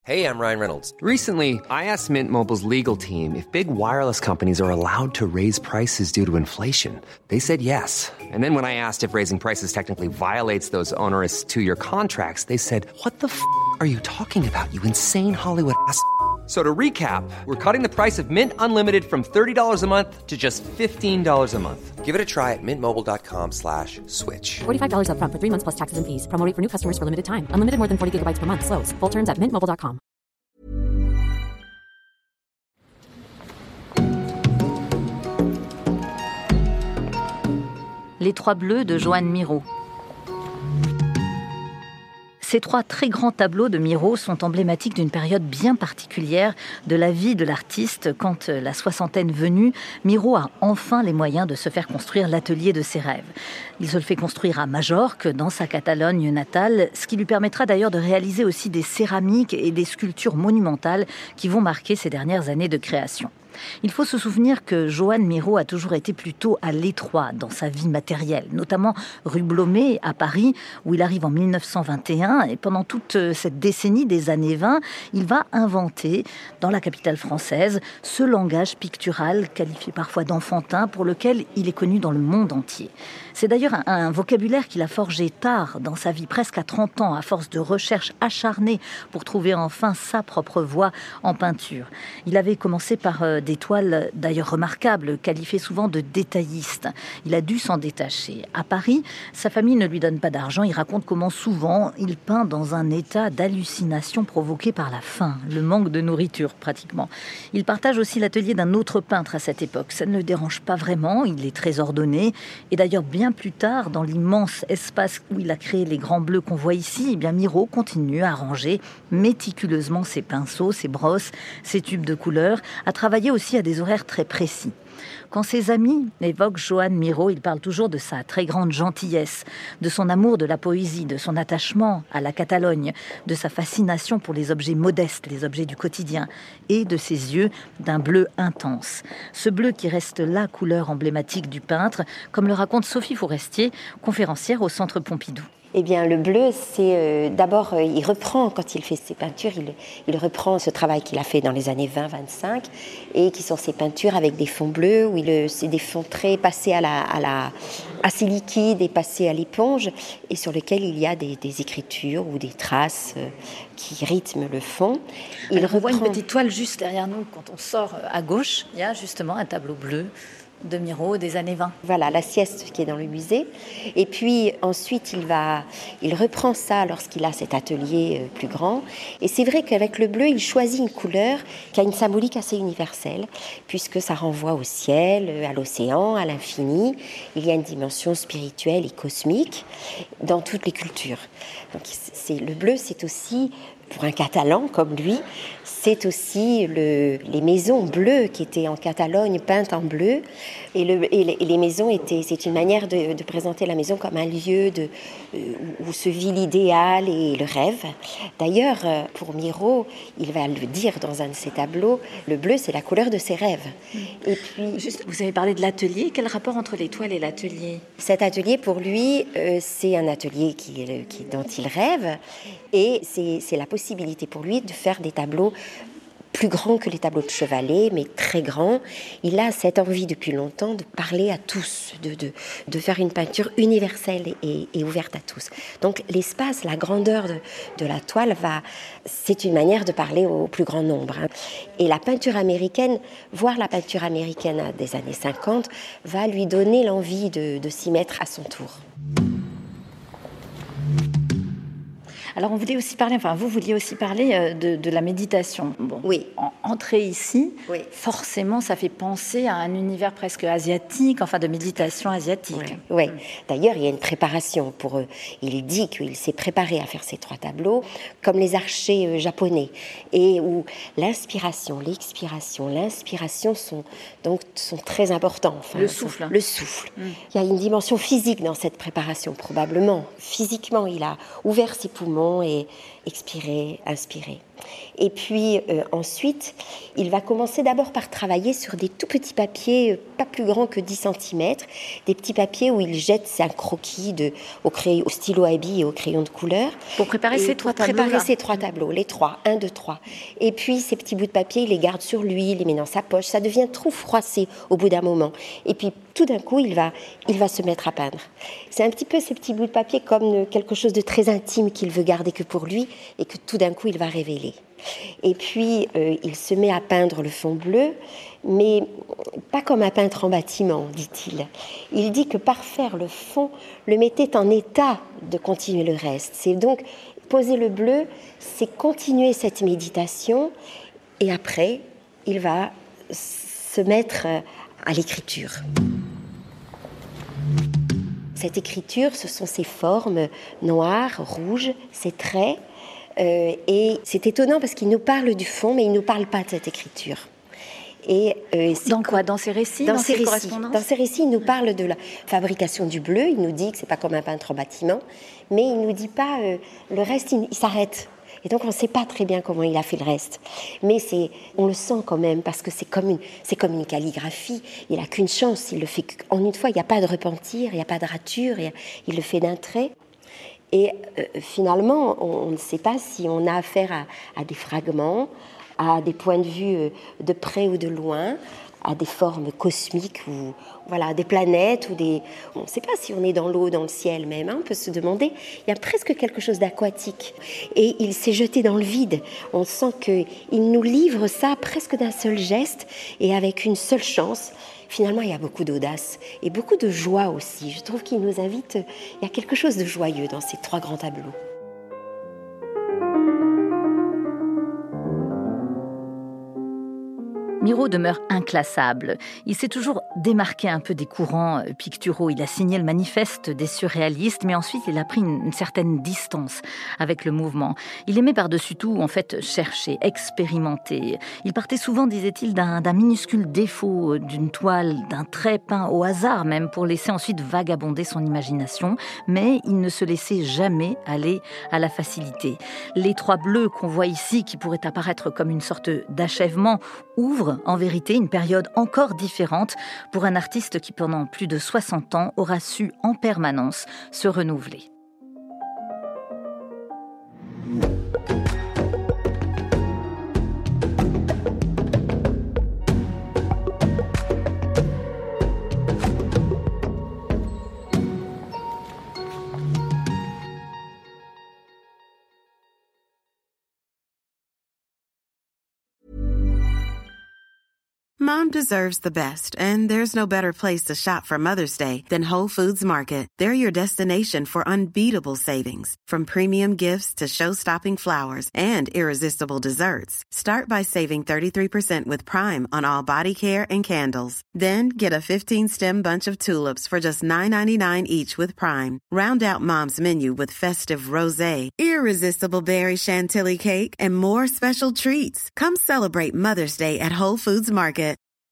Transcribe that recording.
Hey, I'm Ryan Reynolds. Recently, I asked Mint Mobile's legal team if big wireless companies are allowed to raise prices due to inflation. They said yes. And then when I asked if raising prices technically violates those onerous two-year contracts, they said, "What the f*** are you talking about, you insane Hollywood ass?" So to recap, we're cutting the price of Mint Unlimited from $30 a month to just $15 a month. Give it a try at mintmobile.com/switch. $45 up front for 3 months plus taxes and fees. Promo rate for new customers for limited time. Unlimited more than 40 gigabytes per month. Slows full terms at mintmobile.com. Les Trois Bleus de Joan Miró. Ces trois très grands tableaux de Miró sont emblématiques d'une période bien particulière de la vie de l'artiste. Quand la soixantaine venue, Miró a enfin les moyens de se faire construire l'atelier de ses rêves. Il se le fait construire à Majorque, dans sa Catalogne natale, ce qui lui permettra d'ailleurs de réaliser aussi des céramiques et des sculptures monumentales qui vont marquer ses dernières années de création. Il faut se souvenir que Joan Miró a toujours été plutôt à l'étroit dans sa vie matérielle, notamment rue Blomet à Paris, où il arrive en 1921. Et pendant toute cette décennie des années 20, il va inventer, dans la capitale française, ce langage pictural, qualifié parfois d'enfantin, pour lequel il est connu dans le monde entier. C'est d'ailleurs un vocabulaire qu'il a forgé tard dans sa vie, presque à 30 ans, à force de recherches acharnées pour trouver enfin sa propre voie en peinture. Il avait commencé par des toiles d'ailleurs remarquables, qualifiées souvent de détaillistes. Il a dû s'en détacher. À Paris, sa famille ne lui donne pas d'argent. Il raconte comment souvent il peint dans un état d'hallucination provoqué par la faim, le manque de nourriture pratiquement. Il partage aussi l'atelier d'un autre peintre à cette époque. Ça ne le dérange pas vraiment, il est très ordonné. Et d'ailleurs, bien plus tard, dans l'immense espace où il a créé les grands bleus qu'on voit ici, eh bien Miró continue à ranger méticuleusement ses pinceaux, ses brosses, ses tubes de couleurs, à travailler aussi à des horaires très précis. Quand ses amis évoquent Joan Miró, il parle toujours de sa très grande gentillesse, de son amour de la poésie, de son attachement à la Catalogne, de sa fascination pour les objets modestes, les objets du quotidien, et de ses yeux d'un bleu intense. Ce bleu qui reste la couleur emblématique du peintre, comme le raconte Sophie Forestier, conférencière au Centre Pompidou. Eh bien, le bleu, c'est d'abord, il reprend, quand il fait ses peintures, il reprend ce travail qu'il a fait dans les années 20-25, et qui sont ses peintures avec des fonds bleus, où c'est des fonds très passés assez liquides et passés à l'éponge, et sur lesquels il y a des écritures ou des traces qui rythment le fond. On voit une petite toile juste derrière nous, quand on sort à gauche, il y a justement un tableau bleu de Miró des années 20. Voilà, la sieste qui est dans le musée. Et puis ensuite, il reprend ça lorsqu'il a cet atelier plus grand. Et c'est vrai qu'avec le bleu, il choisit une couleur qui a une symbolique assez universelle, puisque ça renvoie au ciel, à l'océan, à l'infini. Il y a une dimension spirituelle et cosmique dans toutes les cultures. Donc le bleu, c'est aussi, pour un Catalan comme lui, c'est aussi les maisons bleues qui étaient en Catalogne peintes en bleu. Et les maisons c'est une manière de présenter la maison comme un lieu où se vit l'idéal et le rêve. D'ailleurs, pour Miró, il va le dire dans un de ses tableaux, le bleu, c'est la couleur de ses rêves. Et puis, juste, vous avez parlé de l'atelier. Quel rapport entre l'étoile et l'atelier ? Cet atelier, pour lui, c'est un atelier dont il rêve. Et c'est la possibilité pour lui de faire des tableaux plus grands que les tableaux de Chevalet, mais très grands. Il a cette envie depuis longtemps de parler à tous, de faire une peinture universelle et ouverte à tous. Donc l'espace, la grandeur de la toile, c'est une manière de parler au plus grand nombre. Et la peinture américaine, voir la peinture américaine des années 50, va lui donner l'envie de s'y mettre à son tour. Alors, vous vouliez aussi parler de la méditation. Bon, oui. Entrer ici, oui. Forcément, ça fait penser à un univers presque asiatique, enfin de méditation asiatique. Oui. D'ailleurs, il y a une préparation pour eux. Il dit qu'il s'est préparé à faire ces 3 tableaux, comme les archers japonais, et où l'inspiration, l'expiration, l'inspiration sont très importants. Enfin, le souffle. Le souffle. Il y a une dimension physique dans cette préparation, probablement. Physiquement, il a ouvert ses poumons et expiré, inspiré. Et puis ensuite, il va commencer d'abord par travailler sur des tout petits papiers, pas plus grands que 10 cm, des petits papiers où il jette un croquis au stylo à billes et au crayon de couleur. Pour préparer ces trois tableaux. Préparer ces 3 tableaux, les 3, 1, 2, 3. Et puis ces petits bouts de papier, il les garde sur lui, il les met dans sa poche. Ça devient trop froissé au bout d'un moment. Et puis tout d'un coup, il va se mettre à peindre. C'est un petit peu ces petits bouts de papier comme quelque chose de très intime qu'il veut garder que pour lui et que tout d'un coup, il va révéler. Et puis, il se met à peindre le fond bleu, mais pas comme un peintre en bâtiment, dit-il. Il dit que parfaire le fond le mettait en état de continuer le reste. C'est donc poser le bleu, c'est continuer cette méditation, et après, il va se mettre à l'écriture. Cette écriture, ce sont ces formes noires, rouges, ces traits. Et c'est étonnant parce qu'il nous parle du fond, mais il ne nous parle pas de cette écriture. Et, dans quoi ? Dans ses récits ? Dans ses récits, il nous parle de la fabrication du bleu. Il nous dit que ce n'est pas comme un peintre en bâtiment, mais il ne nous dit pas le reste, il s'arrête. Et donc on ne sait pas très bien comment il a fait le reste. Mais on le sent quand même, parce que c'est comme une calligraphie. Il n'a qu'une chance, il le fait en une fois, il n'y a pas de repentir, il n'y a pas de rature, il le fait d'un trait. Et finalement, on ne sait pas si on a affaire à des fragments, à des points de vue de près ou de loin, à des formes cosmiques, ou voilà, des planètes, on ne sait pas si on est dans l'eau, dans le ciel même, hein, on peut se demander. Il y a presque quelque chose d'aquatique. Et il s'est jeté dans le vide. On sent qu'il nous livre ça presque d'un seul geste et avec une seule chance. Finalement, il y a beaucoup d'audace et beaucoup de joie aussi. Je trouve qu'il nous invite, il y a quelque chose de joyeux dans ces 3 grands tableaux. Miro demeure inclassable. Il s'est toujours démarqué un peu des courants picturaux. Il a signé le manifeste des surréalistes, mais ensuite il a pris une certaine distance avec le mouvement. Il aimait par-dessus tout, en fait, chercher, expérimenter. Il partait souvent, disait-il, d'un minuscule défaut, d'une toile, d'un trait peint au hasard même, pour laisser ensuite vagabonder son imagination. Mais il ne se laissait jamais aller à la facilité. Les 3 bleus qu'on voit ici, qui pourraient apparaître comme une sorte d'achèvement, ouvrent en vérité une période encore différente pour un artiste qui, pendant plus de 60 ans, aura su en permanence se renouveler. Mom deserves the best, and there's no better place to shop for Mother's Day than Whole Foods Market. They're your destination for unbeatable savings, from premium gifts to show-stopping flowers and irresistible desserts. Start by saving 33% with Prime on all body care and candles. Then get a 15-stem bunch of tulips for just $9.99 each with Prime. Round out Mom's menu with festive rosé, irresistible berry chantilly cake, and more special treats. Come celebrate Mother's Day at Whole Foods Market.